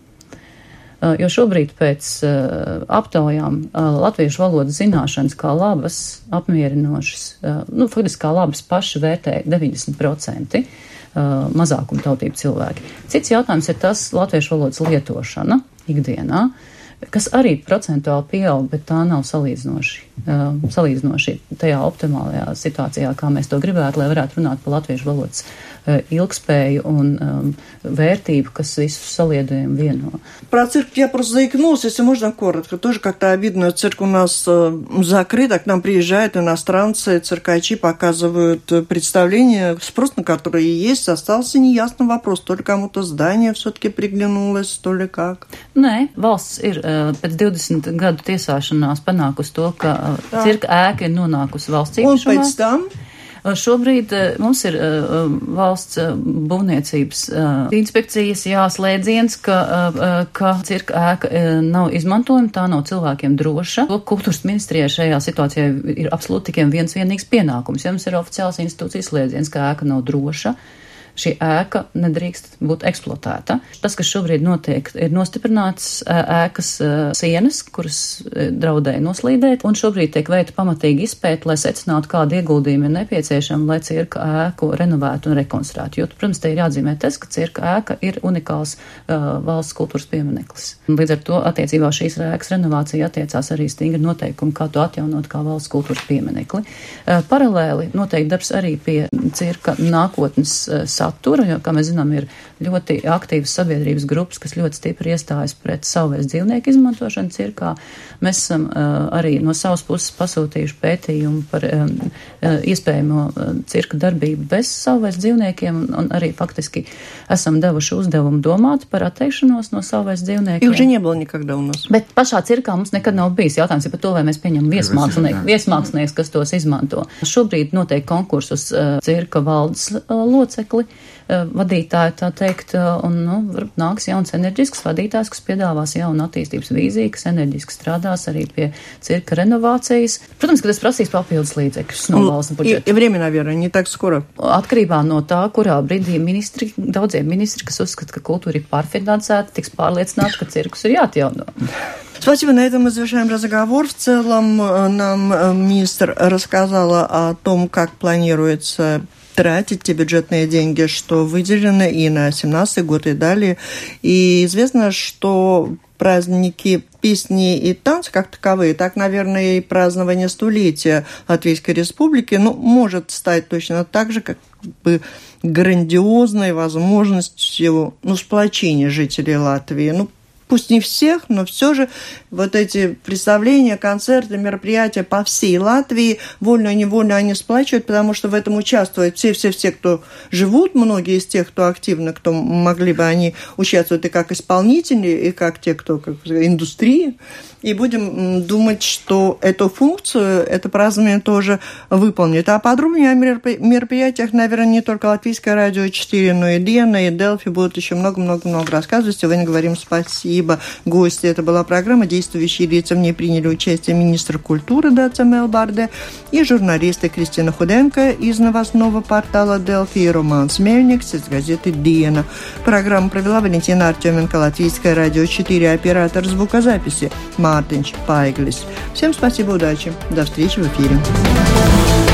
Uh, jo šobrīd pēc uh, aptaujām uh, latviešu valodas zināšanas kā labas, apmierinošas, uh, nu, faktiski kā labas paši vērtē deviņdesmit procenti uh, mazākuma tautību cilvēki. Cits jautājums ir tas latviešu valodas lietošana ikdienā, kas arī procentuāli pieaug, bet tā nav salīdzinoši, uh, salīdzinoši tajā optimālajā situācijā, kā mēs to gribētu, lai varētu runāt par latviešu valodas uh, ilgspēju un um, вертиб, kas visus saliedējumu vieno. Про цирк я просто заикнулась, если можно коротко. Тоже как-то обидно, цирк у нас закрыт, а к нам приезжают иностранцы, циркачи показывают представления, спрос на которые есть. Остался неясный вопрос, то ли кому-то здание все-таки приглянулось, то ли как. Nē, valsts ir pēc divdesmit gadu tiesāšanās panākusi to, ka Jā. cirka ēka ir nonākusi valsts īpašumā. Un pēc tam? Šobrīd mums ir uh, valsts uh, būvniecības uh, inspekcijas jāslēdziens, ka, uh, ka cirka ēka uh, nav izmantojama, tā nav cilvēkiem droša. Kultūras ministrijai šajā situācijā ir absolūti tikai viens vienīgs pienākums. Ja mums ir oficiāls institūcijas slēdziens, ka ēka nav droša, šī ēka nedrīkst būt eksploatēta. Tas, kas šobrīd notiek, ir nostiprināts ēkas sienas, kuras draudēja noslīdēt, un šobrīd tiek veikta pamatīgi izpēta, lai secinātu, kādi ieguldījumi ir nepieciešami, lai cirka ēku renovētu un rekonstruētu. Jo, protams, te ir jāatzīmē tas, ka cirka ēka ir unikāls uh, valsts kultūras piemineklis. Līdz ar to attiecībā šīs ēkas renovācija attiecās arī stingri noteikumi, kā to atjaunot kā valsts kultūras pieminekli. Uh, paralēli noteikti darbs arī pie cirka nākotnes uh, satura, jo, kā mēs zinām, ir ļoti aktīvas sabiedrības grupas, kas ļoti stipri iestājas pret savvaļas dzīvnieku izmantošanu cirkā. Mēs esam uh, arī no savas puses pasūtījuši pētījumu par um, uh, iespējamo uh, cirka darbību bez savvaļas dzīvniekiem, un, un arī faktiski esam devuši uzdevumu domāt par atteikšanos no savvaļas dzīvniekiem. Их же не было никогда у нас. Bet pašā cirkā mums nekad nav bijis jautājums par to, vai mēs pieņemam viesmākslinieks, viesmākslinieks, kas tos izmanto. Šobrīd notiek konkursus uh, cirka valdes uh, locekli, uh, vadītāji, tā teikt, uh, un, nu, varbūt nāks jauns enerģisks vadītājs, kas piedāvās jaunu attīstības vīziju, kas enerģiski strādās arī pie cirka renovācijas. Protams, ka tas prasīs papildus līdzekļus no valsts budžeta. И время, наверное, не так скоро. Atkarībā no tā, kurā brīdī ministri, daudzie ministri, kas uzskata, ka kultūra ir pārfinansēta, tiks pārliecināti, ka cirkus ir jāatjauno. Спасибо, на этом мы завершаем разговор. В целом нам министр рассказала о том, как планируется тратить те бюджетные деньги, что выделены и на семнадцатый год, и далее. И известно, что праздники песни и танцы как таковые, так, наверное, и празднование столетия Латвийской Республики, ну, может стать точно так же, как бы грандиозной возможностью, ну, сплочения жителей Латвии. Ну, пусть не всех, но все же вот эти представления, концерты, мероприятия по всей Латвии, вольно-невольно они сплачивают, потому что в этом участвуют все-все-все, кто живут, многие из тех, кто активно, кто могли бы они участвовать и как исполнители, и как те, кто как индустрия. И будем думать, что эту функцию, это празднование тоже выполнит. А подробнее о мероприятиях, наверное, не только Латвийское радио четыре, но и Диена, и Делфи будут еще много-много-много рассказывать. Сегодня говорим спасибо гости. Это была программа «Действующие лица». В ней приняли участие министр культуры Даца Мелбарде и журналисты Кристина Худенко из новостного портала Делфи и Роман Смельникс из газеты Диена. Программу провела Валентина Артеменко, Латвийское радио четыре, оператор звукозаписи Мартинч Пайглис. Всем спасибо, удачи. До встречи в эфире.